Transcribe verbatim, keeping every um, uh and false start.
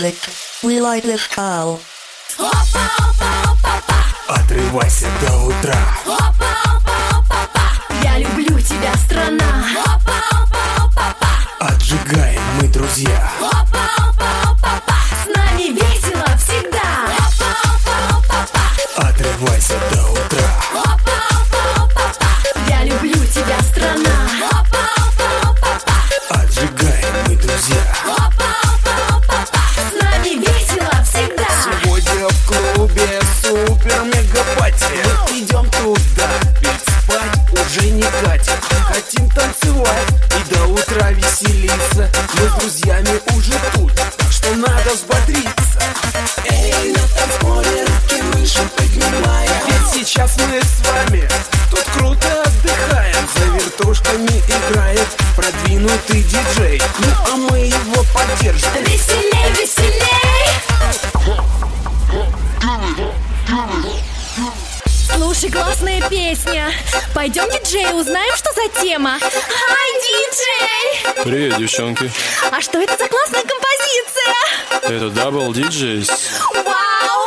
music. We like this style. Отрывайся до утра. Я люблю тебя, страна. Отжигаем мы, друзья. С нами весело всегда. Отрывайся до утра. Я люблю тебя, страна. Отжигаем мы, друзья. С нами весело всегда. Сегодня в клубе супер-мега-пати. Идем туда, ведь спать уже не катит. Хотим танцевать и до утра веселиться. Мы с друзьями уже тут, так что надо взбодриться. Эй, на танцполе руки выше поднимаем. Ведь сейчас мы с вами тут круто отдыхаем. За вертушками играет продвинутый диджей. Ну а мы его поддержим. Веселей, веселей. Слушай, классная песня. Пойдем, диджей, узнаем, что за тема. Хай, диджей! Привет, девчонки. А что это за классная композиция? Это Double ди джейс. Вау!